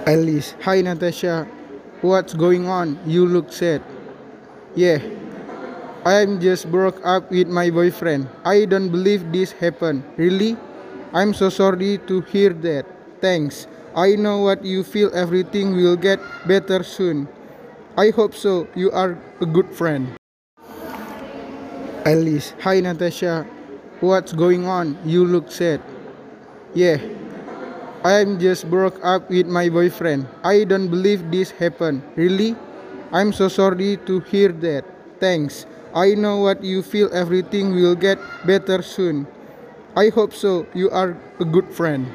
Alice, hi Natasha. What's going on? You look sad. Yeah, I'm just broke up with my boyfriend. I don't believe this happened. Really? I'm so sorry to hear that. Thanks. I know what you feel. Everything will get better soon. I hope so. You are a good friend. Alice, hi Natasha. What's going on? You look sad. Yeah, I'm just broke up with my boyfriend. I don't believe this happened. Really? I'm so sorry to hear that. Thanks. I know what you feel. Everything will get better soon. I hope so. You are a good friend.